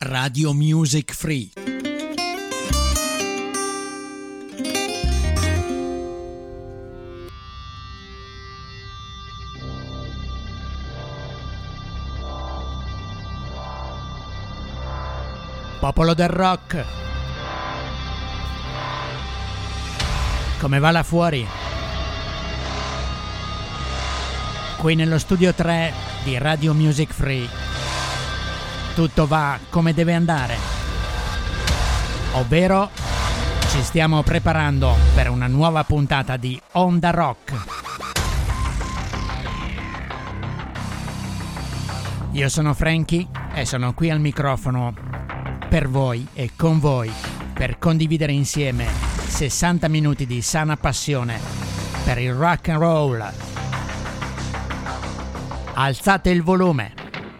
Radio Music Free. Popolo del rock, come va là fuori? Qui nello studio 3 di Radio Music Free tutto va come deve andare, ovvero ci stiamo preparando per una nuova puntata di Onda Rock. Io sono Frankie e sono qui al microfono per voi e con voi per condividere insieme 60 minuti di sana passione per il rock and roll. Alzate il volume.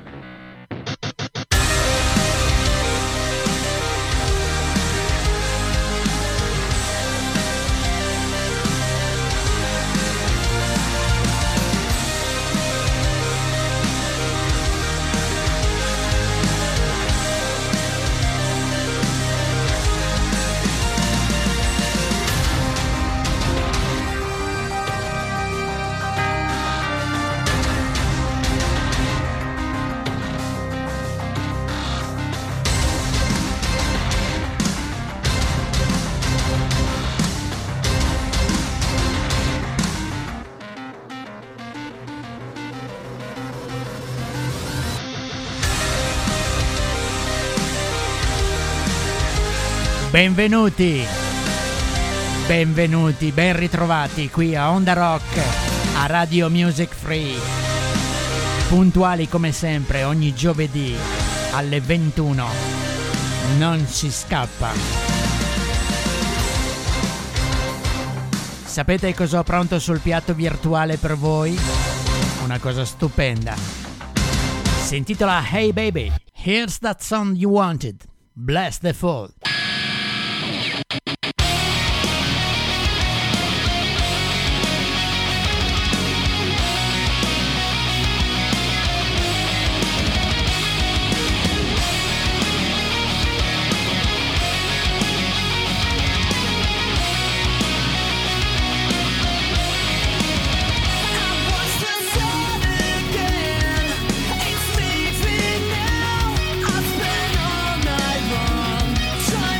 Benvenuti, ben ritrovati qui a Onda Rock, a Radio Music Free, puntuali come sempre ogni giovedì alle 21, non si scappa. Sapete cosa ho pronto sul piatto virtuale per voi? Una cosa stupenda. Si intitola Hey Baby, Here's That Song You Wanted, Bless the Fall. Trying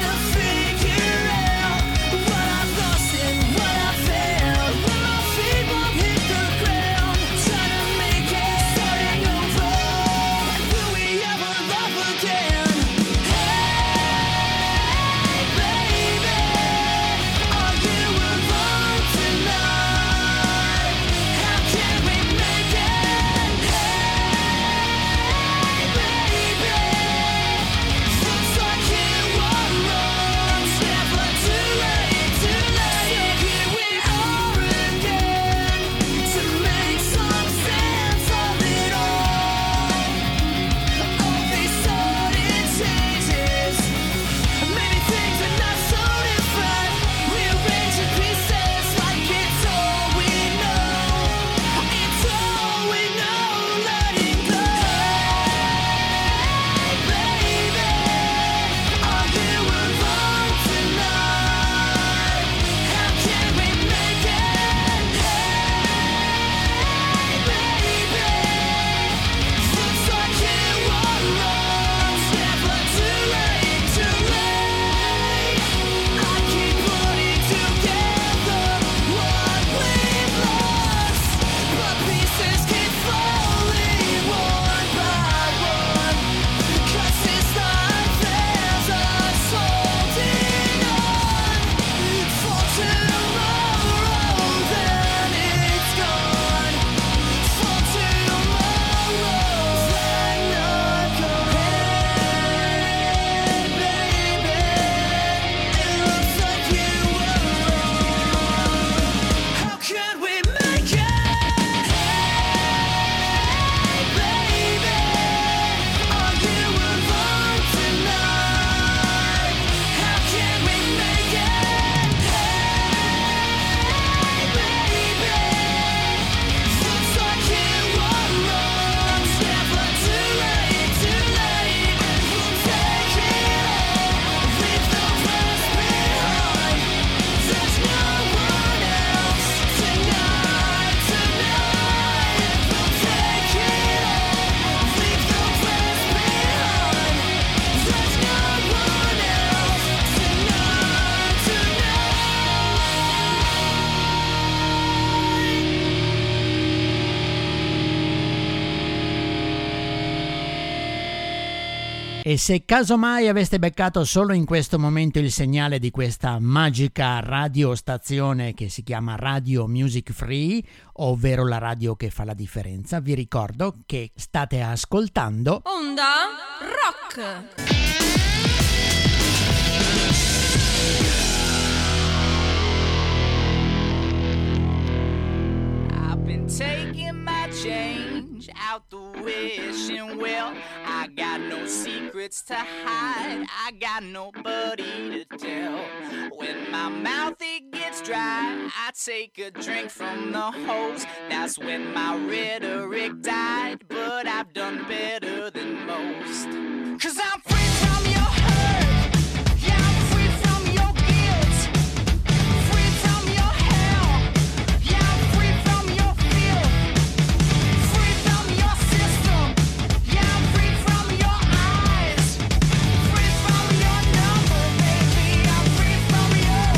E se casomai aveste beccato solo in questo momento il segnale di questa magica radiostazione che si chiama Radio Music Free, ovvero la radio che fa la differenza, vi ricordo che state ascoltando Onda Rock. Taking my change out the wishing well. I got no secrets to hide, I got nobody to tell. When my mouth it gets dry, I take a drink from the hose. That's when my rhetoric died, but I've done better than most. 'Cause I'm free from your hurt, yeah, I'm free from your guilt, free from your hell, yeah, I'm free from your filth, free from your system, yeah, I'm free from your eyes, free from your number, baby, I'm free from your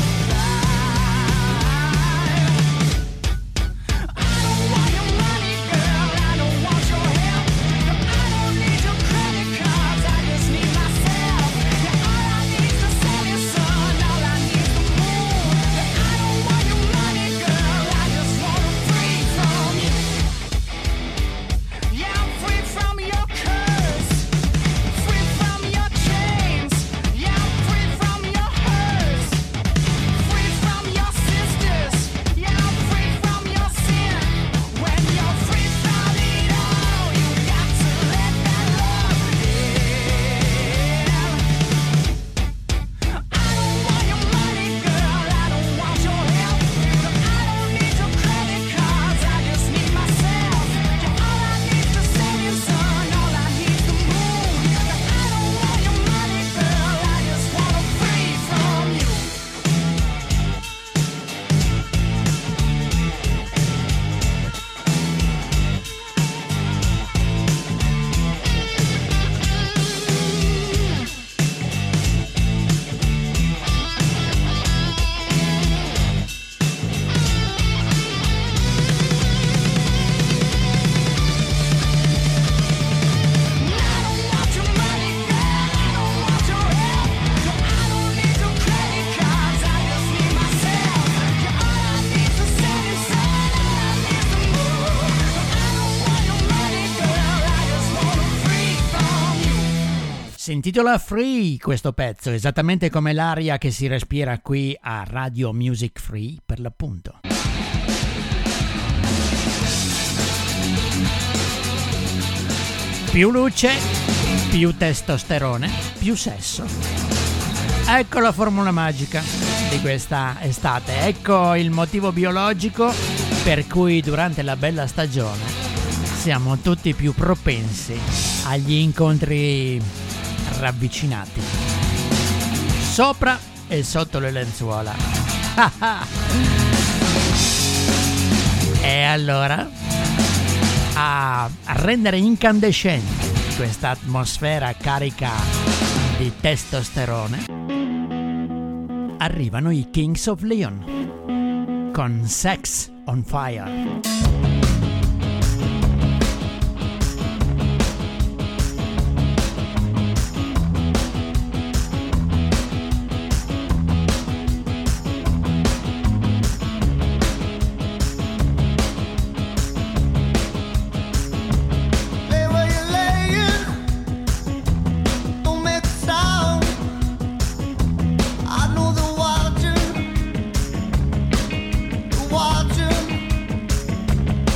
life. I don't want your money, girl, I don't want your help, I don't need your credit cards, I just need myself. Yeah, all I need is the sun, all I need is the moon. I don't want your money, girl, I just wanna free from you. Yeah, I'm free from your curse, free from your chains. Yeah, I'm free from your hurts, free from your sisters. Yeah, I'm free from your sin. When you're free from it all, you got to let that love in. I don't want your money, girl, I don't want your help, I don't need your credit cards, I just need myself. Yeah, all I need is the setting sun, all I need is the moon. I don't want your money, girl, I just wanna free from you. Si intitola Free questo pezzo, esattamente come l'aria che si respira qui a Radio Music Free per l'appunto. Più luce, più testosterone, più sesso. Ecco la formula magica di questa estate, ecco il motivo biologico per cui durante la bella stagione siamo tutti più propensi agli incontri ravvicinati, sopra e sotto le lenzuola. E allora, a rendere incandescente questa atmosfera carica di testosterone, arrivano i Kings of Leon con Sex on Fire. Watching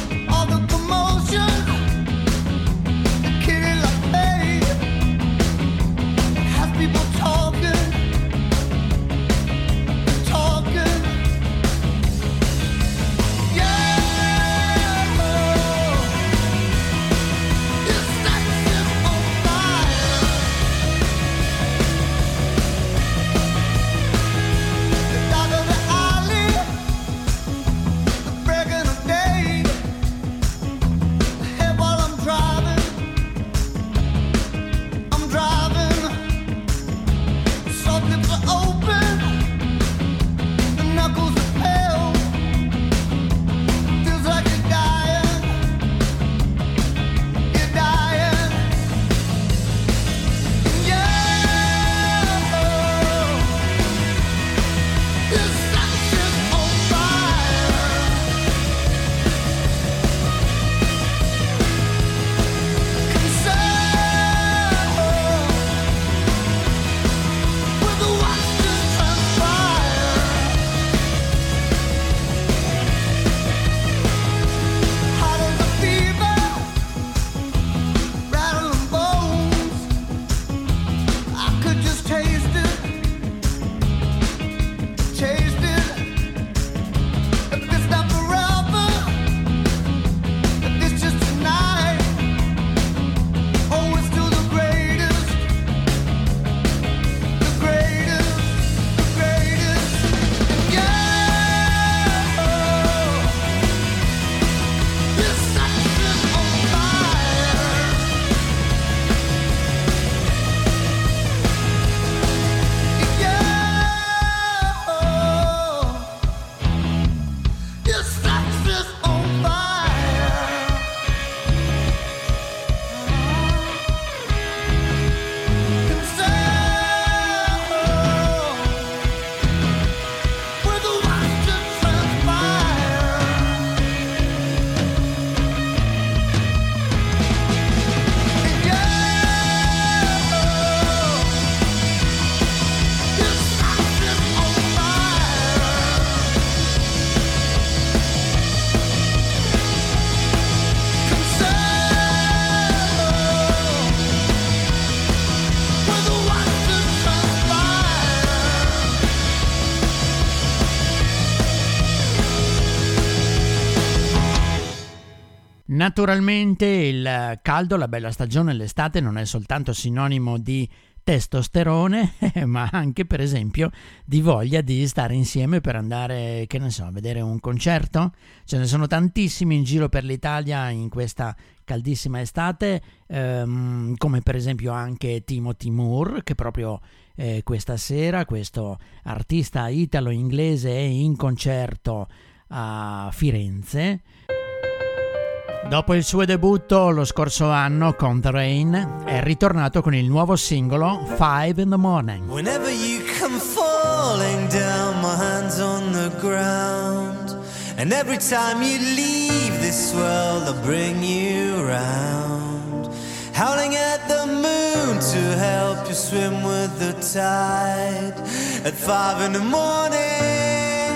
Naturalmente il caldo, la bella stagione, l'estate non è soltanto sinonimo di testosterone, ma anche per esempio di voglia di stare insieme per andare, che ne so, a vedere un concerto. Ce ne sono tantissimi in giro per l'Italia in questa caldissima estate, come per esempio anche Timothy Moore, che proprio questa sera, questo artista italo-inglese, è in concerto a Firenze. Dopo il suo debutto lo scorso anno con The Rain, è ritornato con il nuovo singolo 5 in the Morning. Whenever you come falling down, my hands on the ground, and every time you leave this world, I'll bring you round, howling at the moon to help you swim with the tide at 5 in the morning.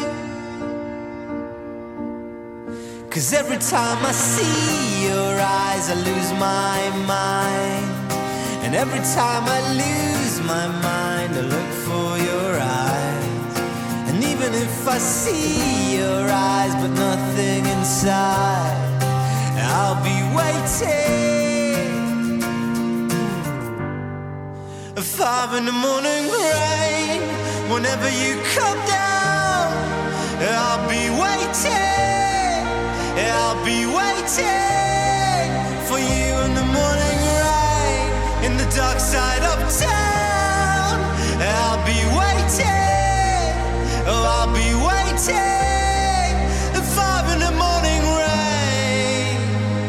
'Cause every time I see your eyes I lose my mind, and every time I lose my mind I look for your eyes, and even if I see your eyes but nothing inside, I'll be waiting. 5 in the morning rain, whenever you come down, I'll be waiting. I'll be waiting for you in the morning rain, in the dark side of town. I'll be waiting, oh I'll be waiting at 5 in the morning rain.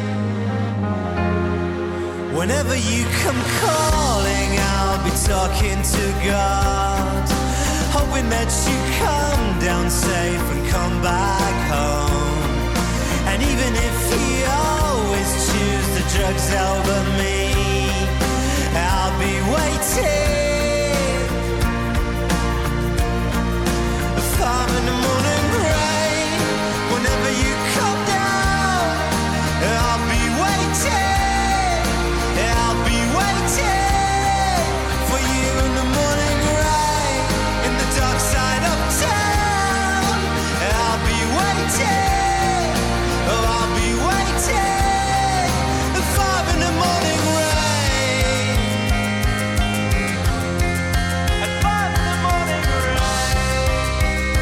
Whenever you come calling, I'll be talking to God, hoping that you come down safe and come back home. And even if you always choose the drugs over me, I'll be waiting. 5 in the morning rain, whenever you come down, I'll be waiting. I'll be waiting for you in the morning rain, in the dark side of town. I'll be waiting. Oh, I'll be waiting at 5 in the morning rain. At 5 in the morning rain.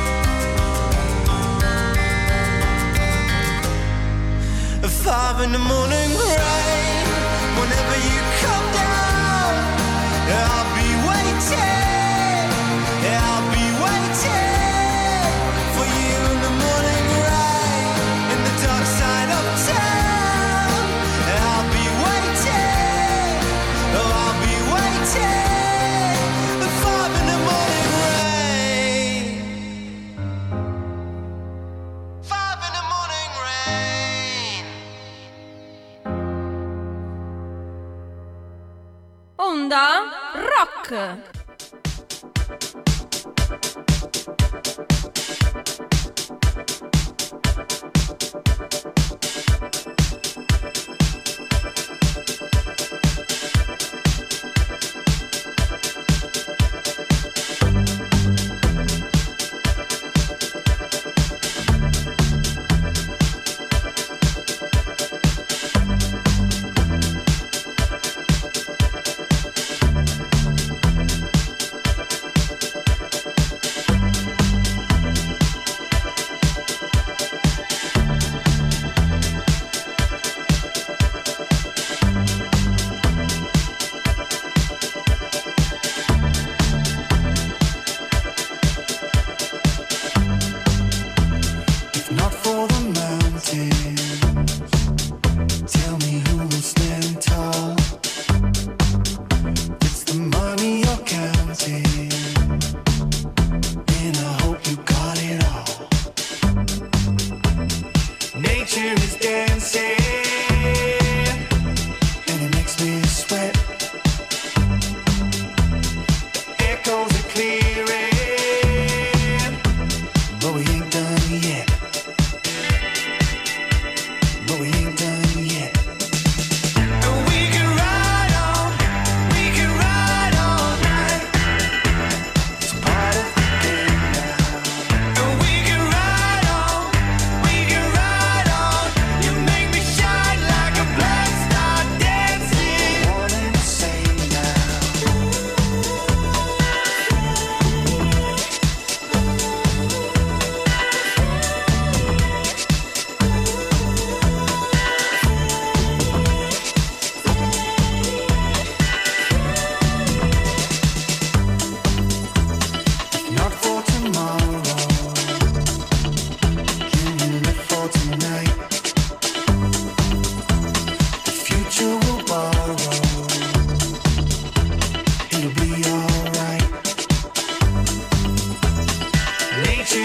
At 5 in the morning rain, whenever you come down, I'll be waiting. I'll be waiting for you in the morning rain, in the dark side of town. I'll be waiting, oh I'll be waiting at 5 in the morning rain. 5 in the morning rain. Onda Rock.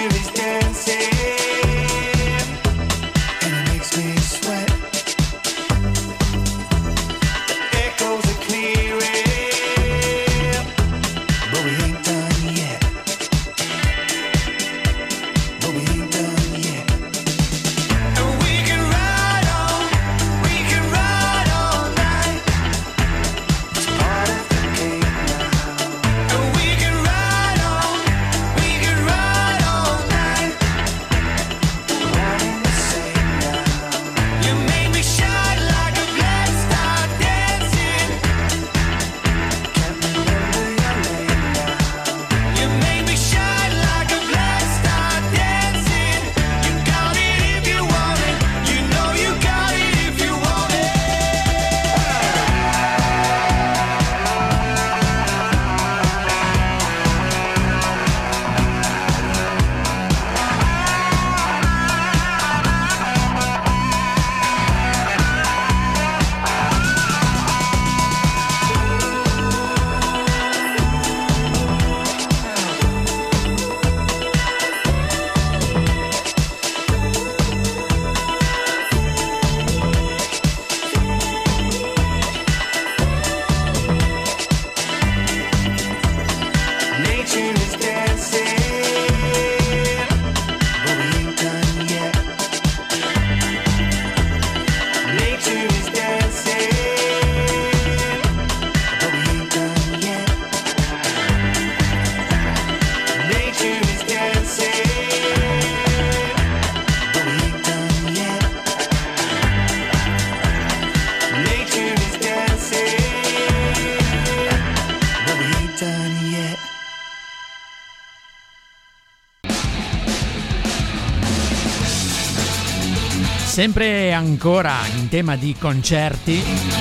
Sempre ancora in tema di concerti,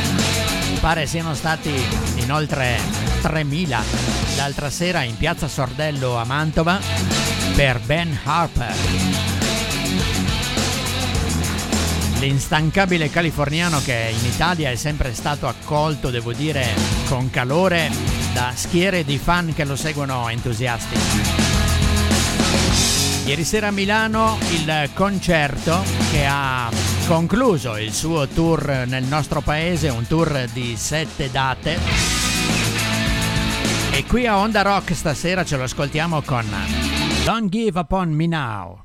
pare siano stati in oltre 3.000 l'altra sera in piazza Sordello a Mantova per Ben Harper. L'instancabile californiano che in Italia è sempre stato accolto, devo dire, con calore da schiere di fan che lo seguono entusiasti. Ieri sera a Milano il concerto che ha concluso il suo tour nel nostro paese, un tour di 7 date. E qui a Onda Rock stasera ce lo ascoltiamo con Don't Give Up On Me Now.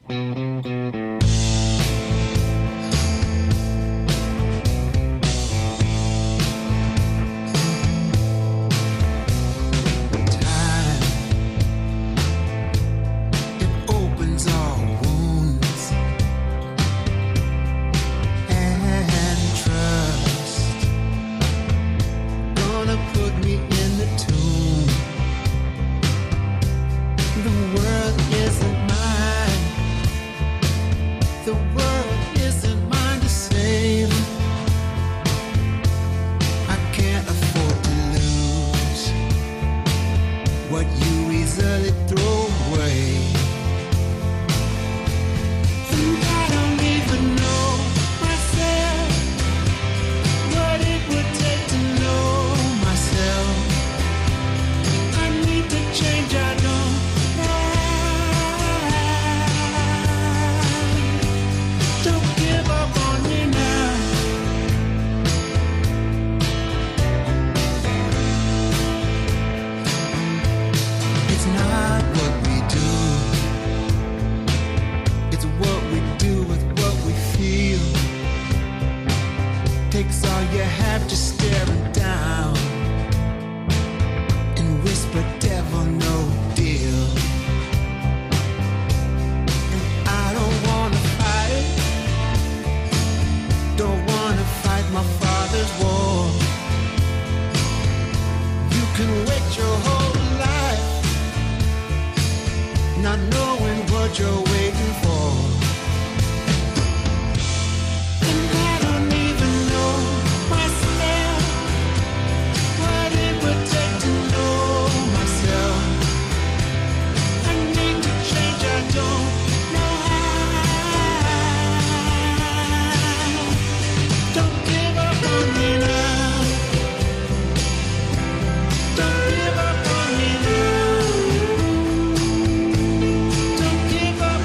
Don't give up.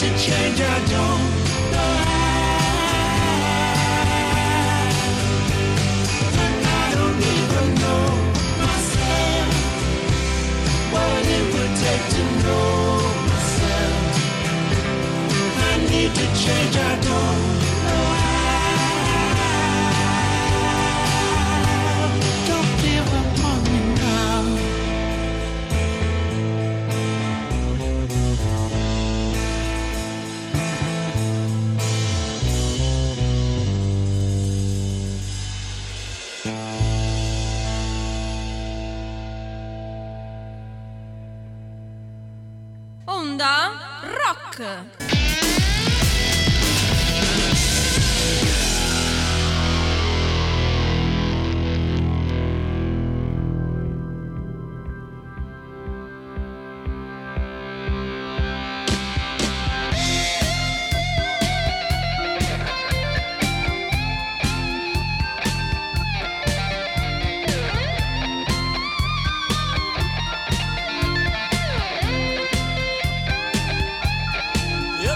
to change, I don't know how. And I don't even know myself what it would take to know myself. I need to change, I don't know how. Don't give up on me now. Onda Rock. Yeah.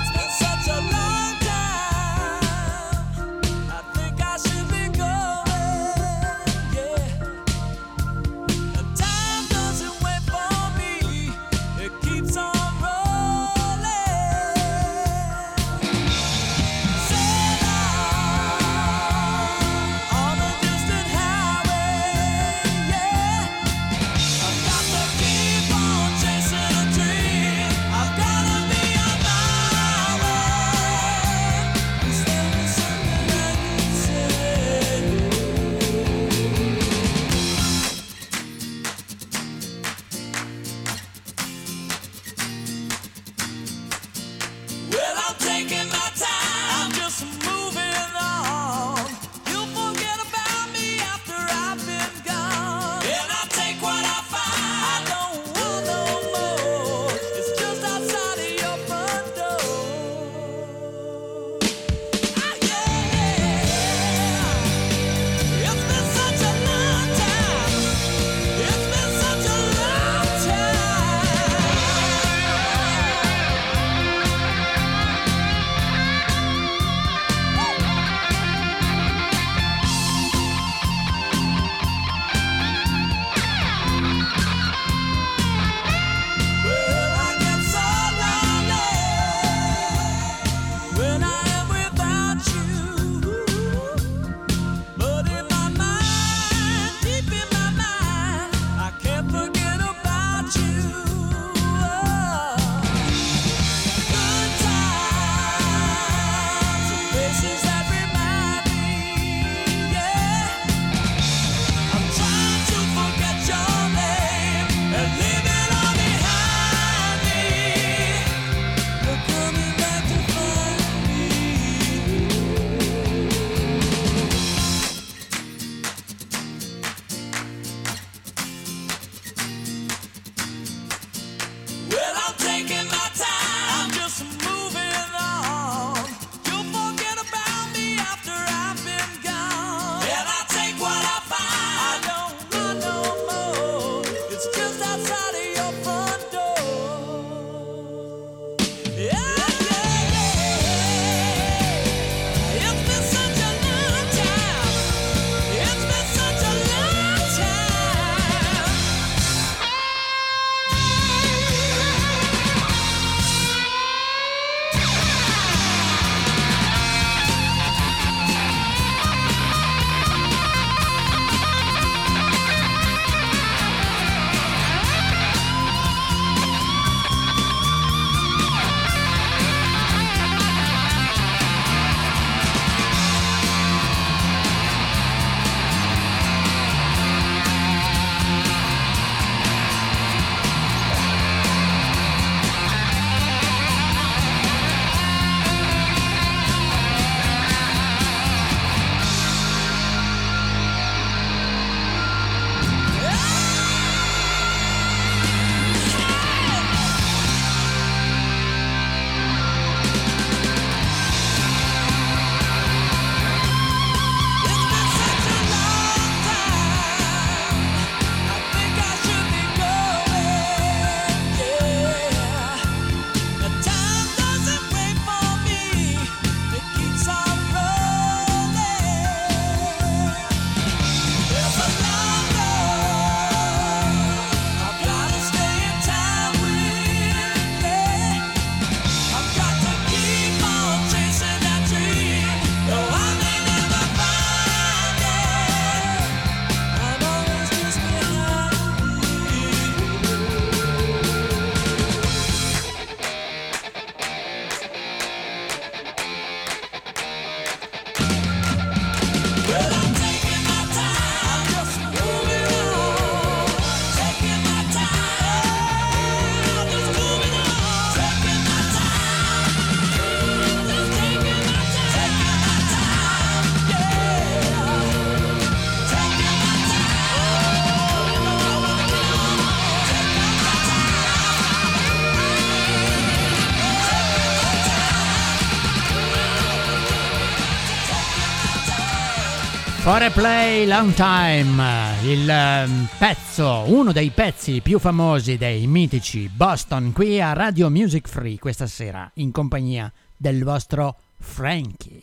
For a Play Long Time, il pezzo, uno dei pezzi più famosi dei mitici Boston, qui a Radio Music Free questa sera in compagnia del vostro Frankie.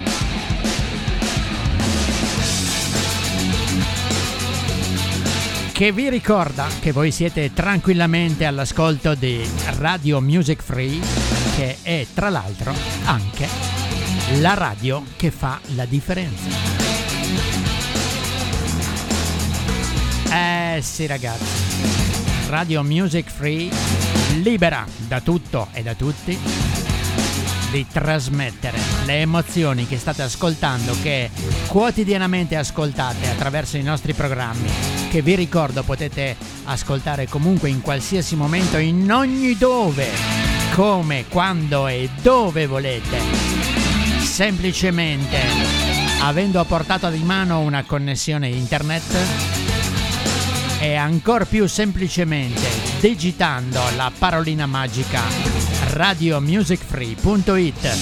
Che vi ricorda che voi siete tranquillamente all'ascolto di Radio Music Free, che è tra l'altro anche la radio che fa la differenza. Sì ragazzi, Radio Music Free libera da tutto e da tutti di trasmettere le emozioni che state ascoltando, che quotidianamente ascoltate attraverso i nostri programmi, che vi ricordo potete ascoltare comunque in qualsiasi momento, in ogni dove, come, quando e dove volete, semplicemente avendo a portata di mano una connessione internet e ancor più semplicemente digitando la parolina magica radiomusicfree.it.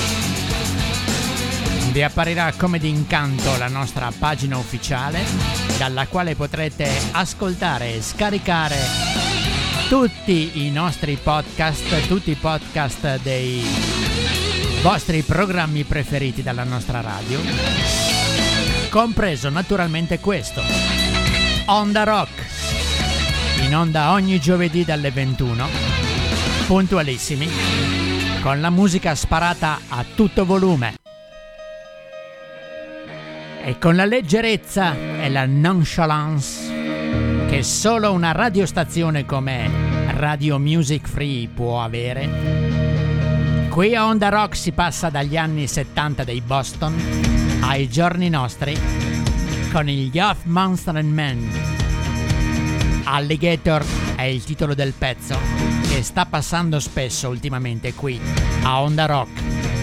Vi apparirà come d'incanto la nostra pagina ufficiale, dalla quale potrete ascoltare e scaricare tutti i nostri podcast, tutti i podcast dei vostri programmi preferiti dalla nostra radio, compreso naturalmente questo, Onda Rock, in onda ogni giovedì dalle 21, puntualissimi, con la musica sparata a tutto volume e con la leggerezza e la nonchalance che solo una radiostazione come Radio Music Free può avere. Qui a Onda Rock si passa dagli anni 70 dei Boston ai giorni nostri con gli Of Monster and Men. Alligator è il titolo del pezzo che sta passando spesso ultimamente qui a Onda Rock.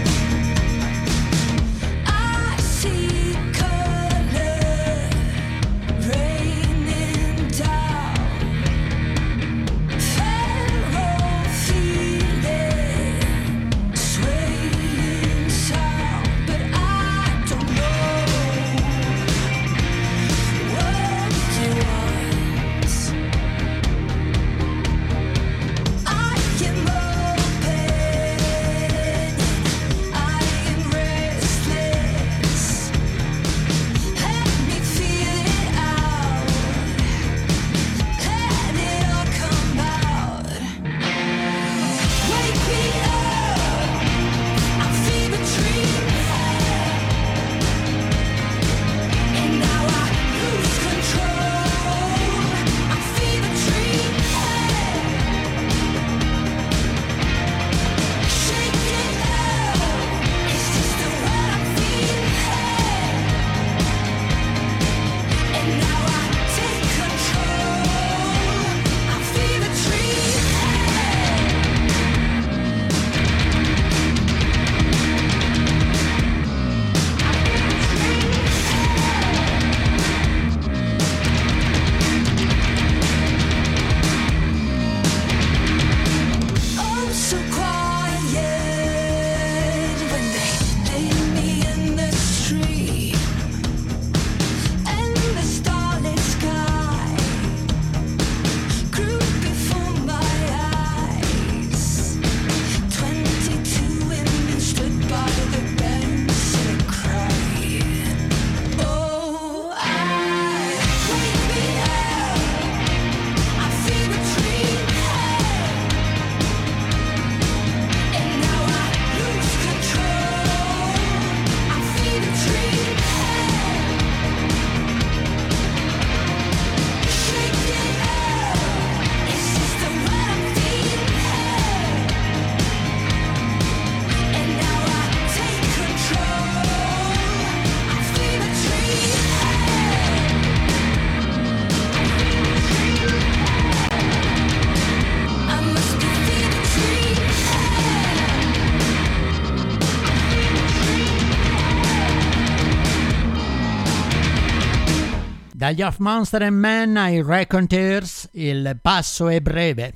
Dagli Of Monster and Men ai Raconteurs il passo è breve.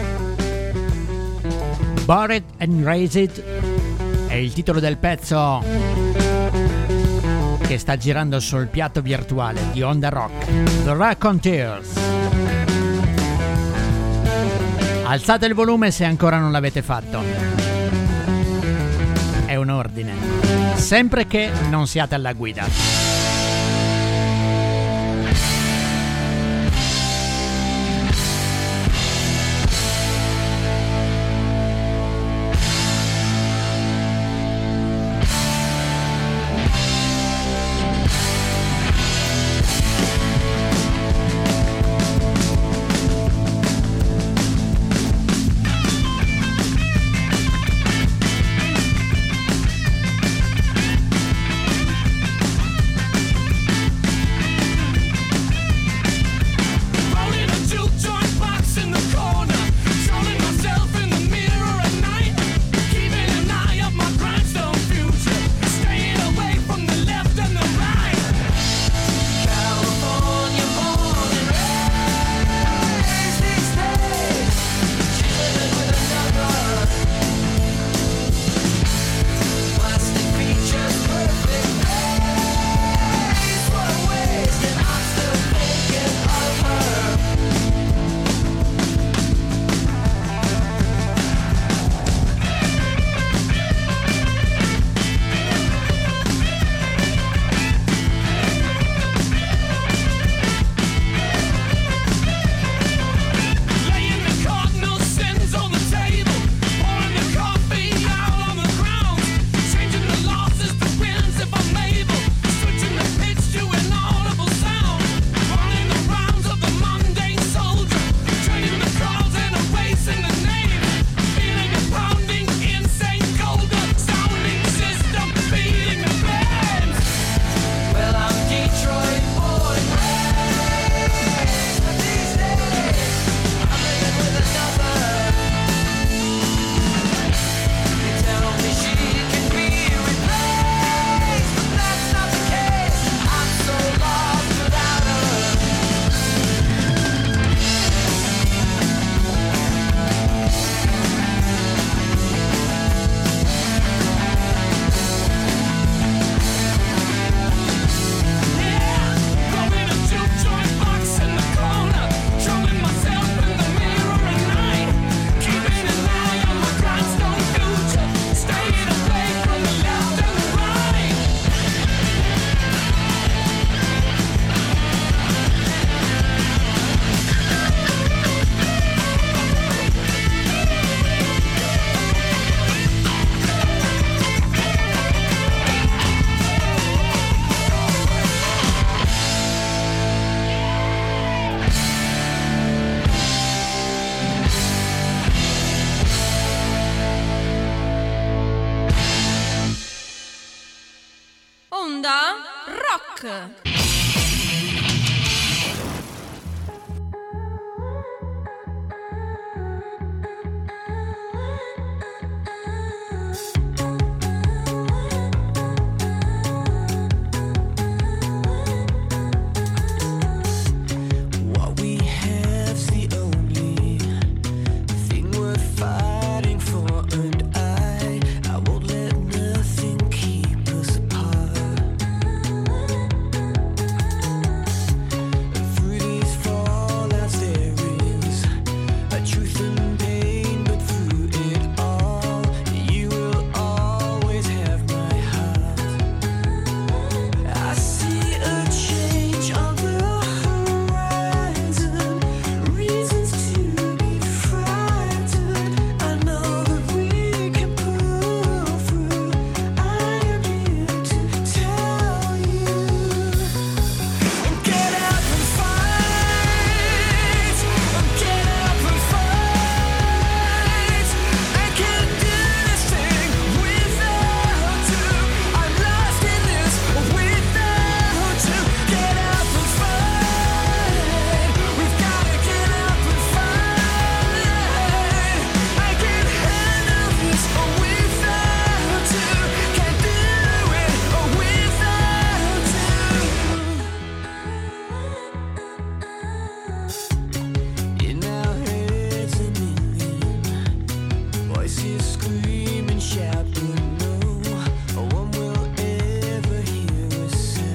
Buried and Raised è il titolo del pezzo che sta girando sul piatto virtuale di Onda Rock, The Raconteurs. Alzate il volume se ancora non l'avete fatto. È un ordine, sempre che non siate alla guida. Scream and shout, but no one will ever hear us say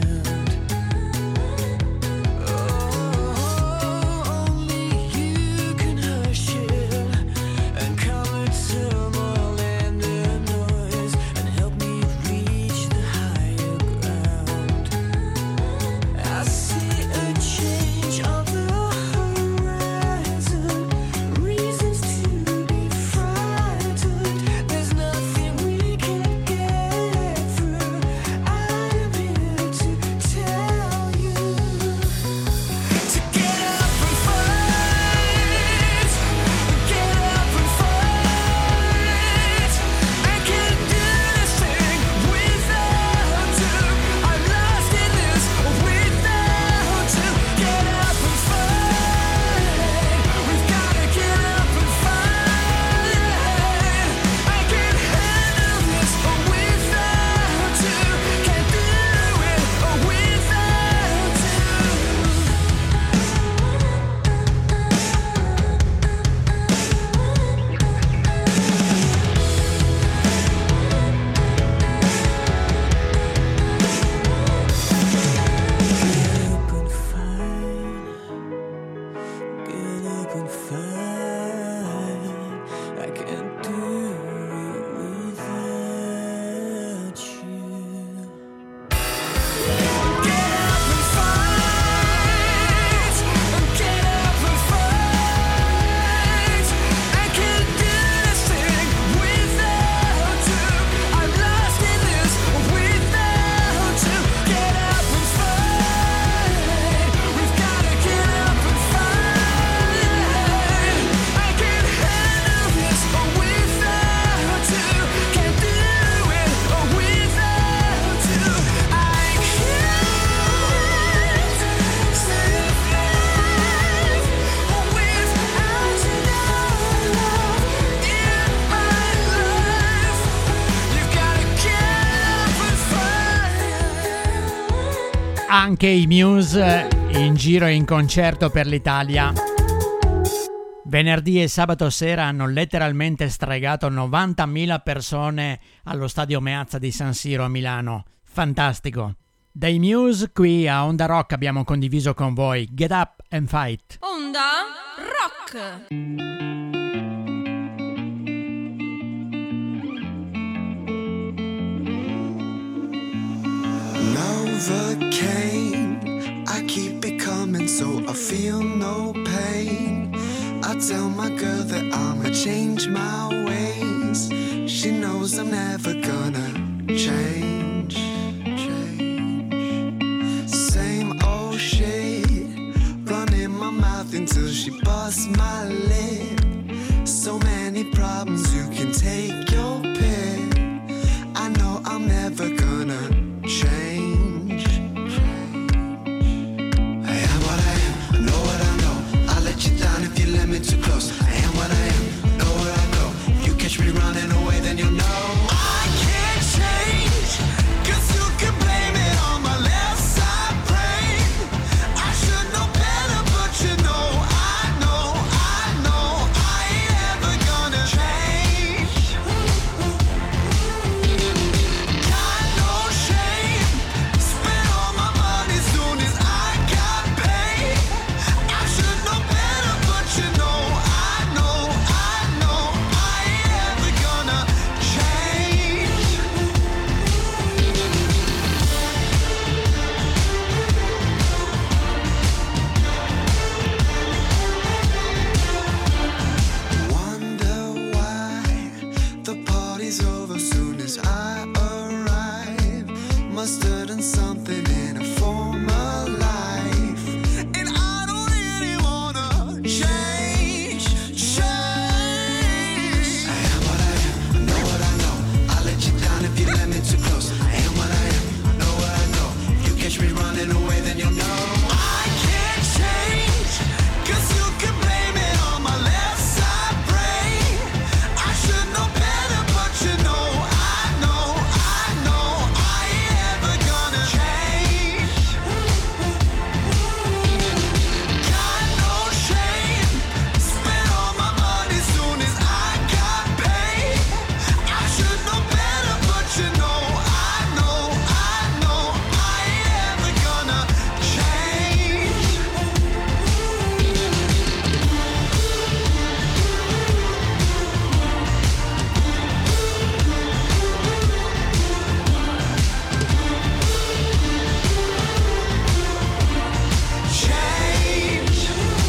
anche i Muse in giro e in concerto per l'Italia. Venerdì e sabato sera hanno letteralmente stregato 90.000 persone allo stadio Meazza di San Siro a Milano. Fantastico. Dai Muse qui a Onda Rock abbiamo condiviso con voi Get Up and Fight. Onda Rock. Novocaine, I keep it coming so I feel no pain. I tell my girl that I'ma change my ways. She knows I'm never gonna change. Same old shit, running my mouth until she busts my lip. So many problems, you can take your pick. I know I'm never gonna change. I am what I am, I know what I know. I'll let you down if you let me too close. I am what I am, know what I know. If you catch me running away, then you'll know. I can't change, 'cause you can blame it on my left side brain. I should know better, but you know, I know I ain't ever gonna change. Got no shame, spend all my money soon as I got paid. I should know better, but you know, I ain't ever gonna change. Wonder why the party's over soon as I arrive. Must have done something in a former life, and I don't really wanna change. I am what I am, I know what I know. I'll let you down if you let me too close. I am what I am, I know what I know. If you catch me running away, then you'll know. I can't change, 'cause you can blame it on my left side brain. I should know better, but you know, I ain't ever gonna change. Got no shame, spent all my money soon as I got paid. I should know better, but you know, I ain't ever gonna change. Change.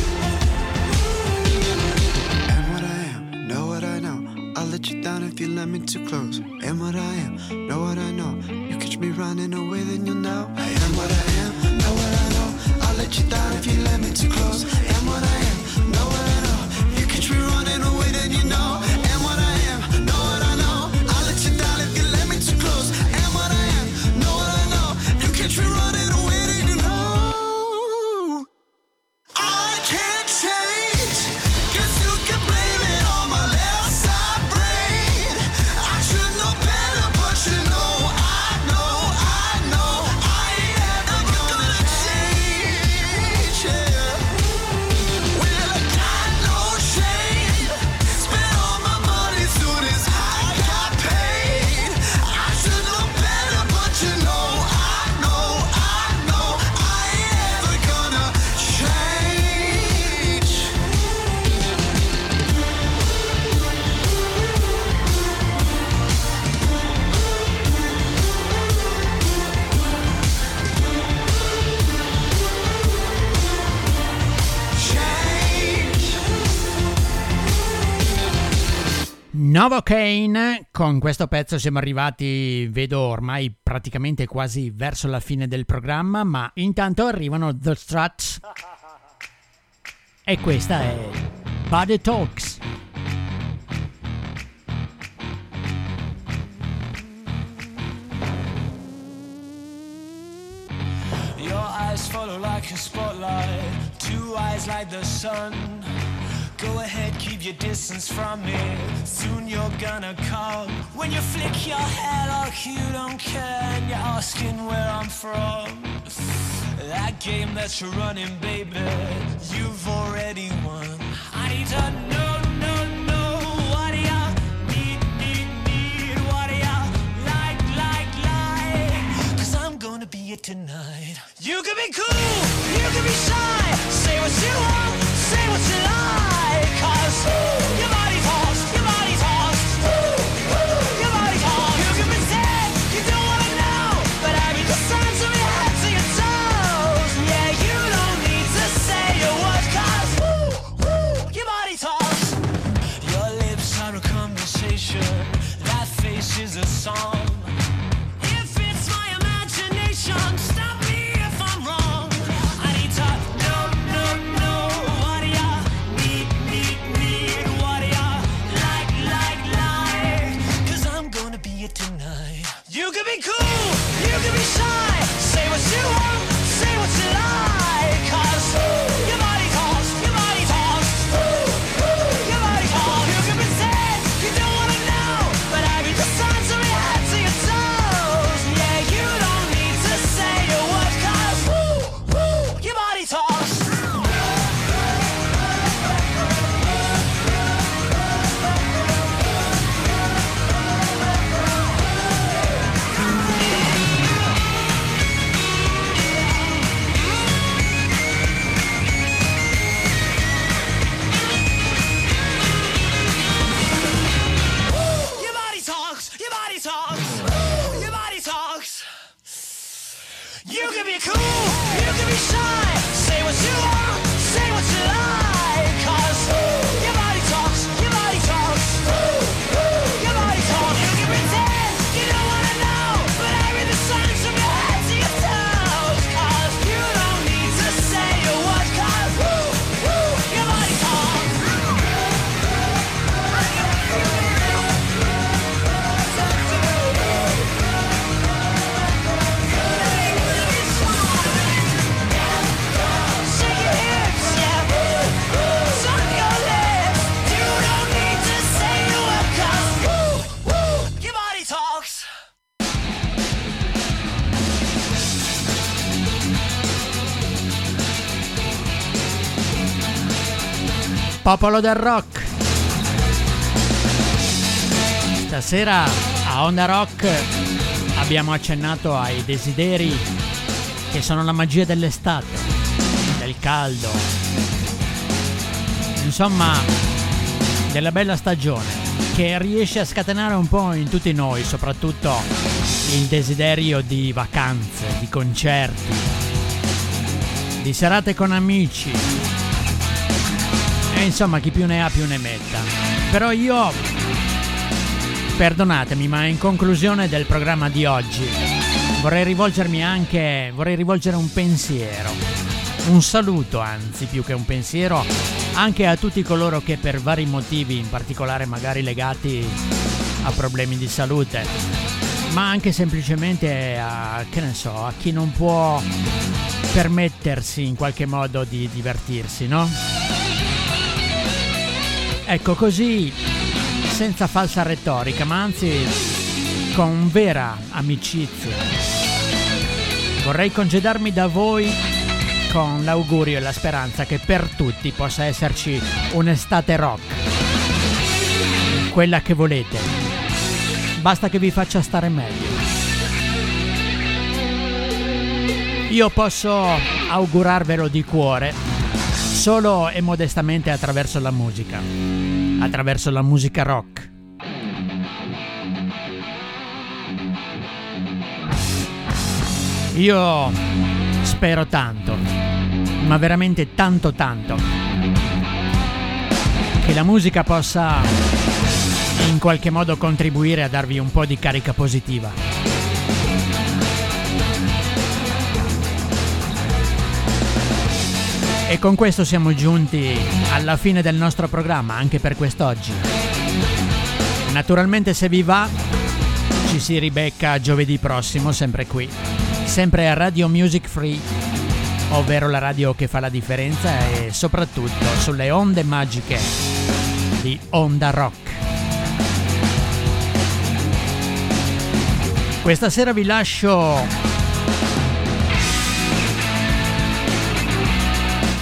Am what I am, know what I know. I'll let you down if you let me too close. Am what I am, know what I know. You catch me running away, then you'll know. I am what I am, know what I know. I'll let you down if you let me too close. Am what I am, know what I know. You catch me running away, then you know. Am what I am, know what I know. I'll let you down if you let me too close. Am what I am, know what I know. You catch me running away, then you know. I can't change, 'cause you can blame it on my left side brain. I should know better, but you know, I ain't ever gonna change. Yeah. Well, I got no shame, spent all my money soon as I got paid. I should know better, but you know, I ain't ever gonna change. Novocaine, con questo pezzo siamo arrivati, vedo ormai praticamente quasi verso la fine del programma, ma intanto arrivano The Struts e questa è Body Talks. Your eyes follow like a spotlight, two eyes like the sun. Go ahead, keep your distance from me, soon you're gonna come. When you flick your hair like you don't care and you're asking where I'm from, That game that you're running, baby, you've already won. I need to know, what do ya need, what do ya like, 'cause I'm gonna be it tonight. You can be cool, you can be shy, say what you want, say what you like, 'cause your body talks, your body talks, your body talks. You can pretend you don't wanna know, but I read the signs from your head to your toes. Yeah, you don't need to say a word, 'cause your body talks. Your lips are a conversation, that face is a song. If it's my imagination, stop me if I'm wrong. I need to know, what do ya need, what do ya like, 'cause I'm gonna be it tonight. You can be cool, you can be shy, say what you want, say what you like, 'cause your body talks, your body talks, your body talks. You can pretend you don't wanna know, but I read the signs from your head to your toes. Yeah, you don't need to say a word, 'cause your body talks. Your body talks, your body talks, your body talks. You can be cool, you can be shy, say what you want, say what you like, 'cause your body talks, your body talks, your body talks. You can pretend you don't wanna know, but I read the signs from your head to your toes, 'cause you don't need to say a word, 'cause your body talks. Shake your hips, yeah. Suck your lips. You don't need to say a word, 'cause your body talks. Popolo del rock. Stasera a Onda Rock abbiamo accennato ai desideri che sono la magia dell'estate, del caldo, insomma della bella stagione che riesce a scatenare un po' in tutti noi, soprattutto il desiderio di vacanze, di concerti, di serate con amici e insomma chi più ne ha più ne metta. Però io, perdonatemi, ma in conclusione del programma di oggi vorrei rivolgere un pensiero, un saluto anzi più che un pensiero, anche a tutti coloro che per vari motivi, in particolare magari legati a problemi di salute, ma anche semplicemente a, che ne so, a chi non può permettersi in qualche modo di divertirsi, no? Ecco, così, senza falsa retorica, ma anzi con vera amicizia, vorrei congedarmi da voi con l'augurio e la speranza che per tutti possa esserci un'estate rock, quella che volete, basta che vi faccia stare meglio. Io posso augurarvelo di cuore solo e modestamente attraverso la musica rock. Io spero tanto, ma veramente tanto, che la musica possa in qualche modo contribuire a darvi un po' di carica positiva. E con questo siamo giunti alla fine del nostro programma, anche per quest'oggi. Naturalmente, se vi va, ci si ribecca giovedì prossimo, sempre qui, sempre a Radio Music Free, ovvero la radio che fa la differenza, e soprattutto sulle onde magiche di Onda Rock. Questa sera vi lascio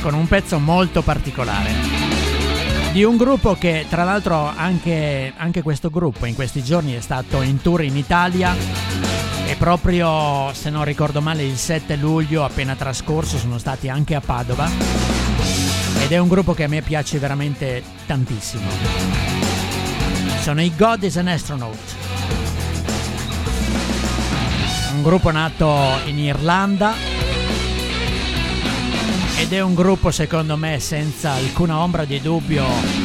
con un pezzo molto particolare di un gruppo che tra l'altro anche questo gruppo in questi giorni è stato in tour in Italia e proprio, se non ricordo male, il 7 luglio appena trascorso sono stati anche a Padova ed è un gruppo che a me piace veramente tantissimo. Sono i God is an Astronaut, un gruppo nato in Irlanda ed è un gruppo secondo me senza alcuna ombra di dubbio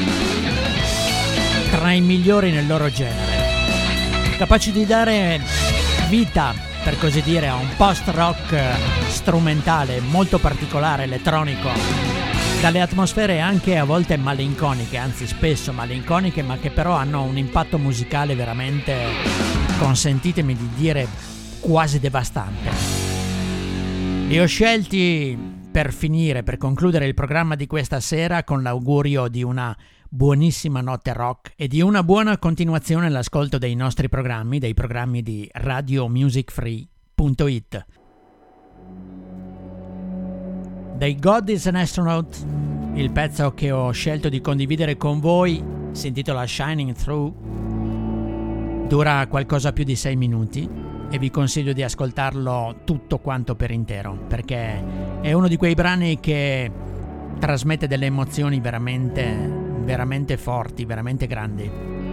tra i migliori nel loro genere, capaci di dare vita, per così dire, a un post-rock strumentale molto particolare, elettronico, dalle atmosfere anche a volte malinconiche, anzi spesso malinconiche, ma che però hanno un impatto musicale veramente, consentitemi di dire, quasi devastante. Li ho scelti per finire, per concludere il programma di questa sera con l'augurio di una buonissima notte rock e di una buona continuazione all'ascolto dei nostri programmi, dei programmi di radiomusicfree.it. Dei God is an Astronaut, il pezzo che ho scelto di condividere con voi si intitola Shining Through, dura qualcosa più di 6 minuti e vi consiglio di ascoltarlo tutto quanto per intero, perché è uno di quei brani che trasmette delle emozioni veramente forti, veramente grandi.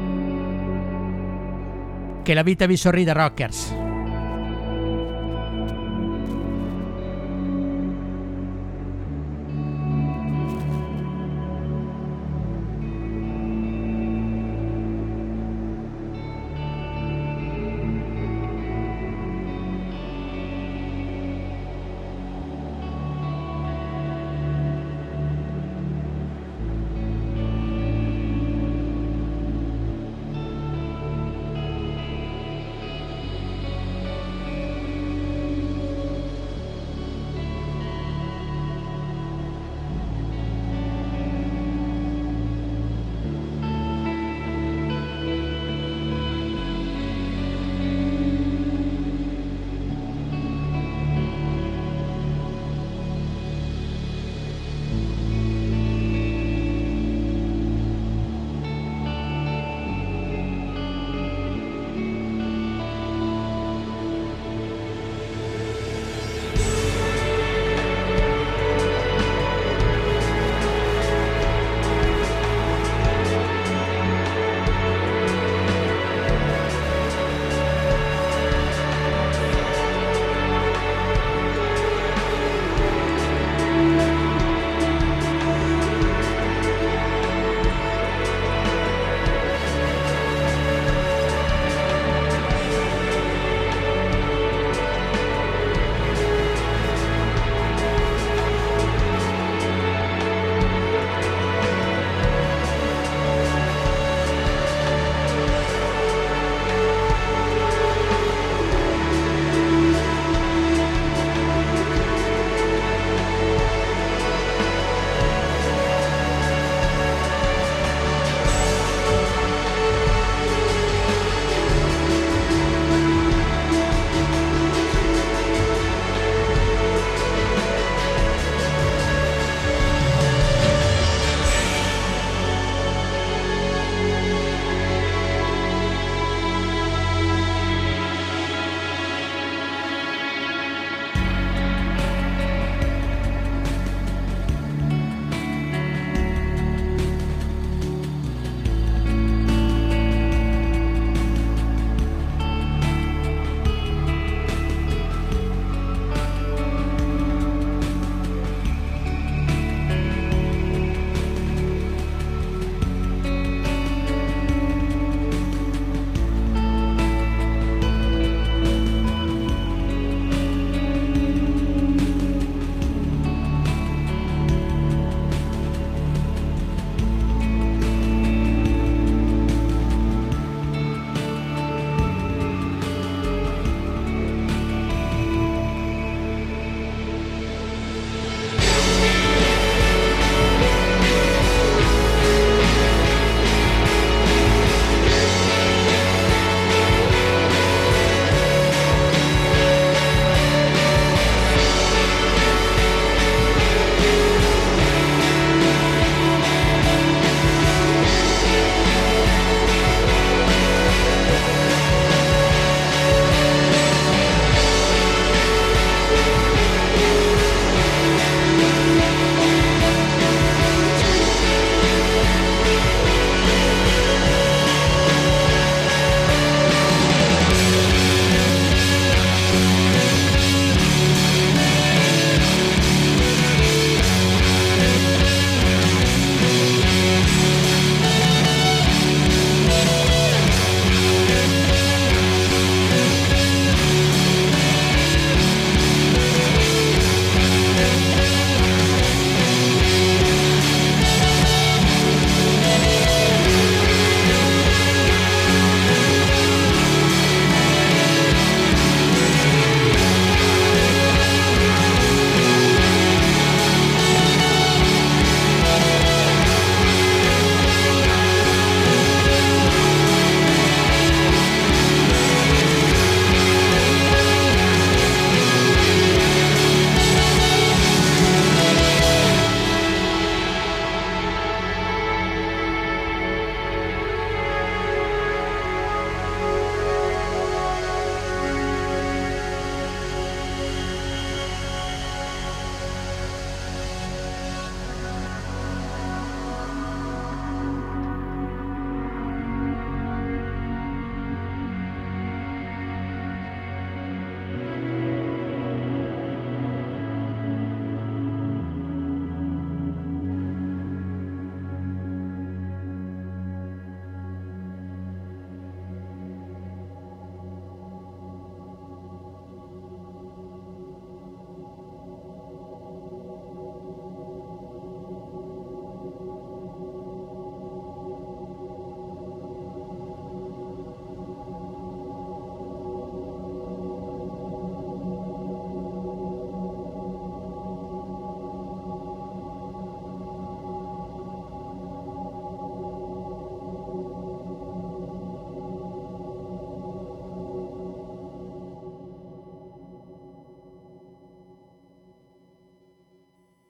Che la vita vi sorrida, rockers!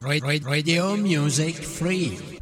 Radio Music Free.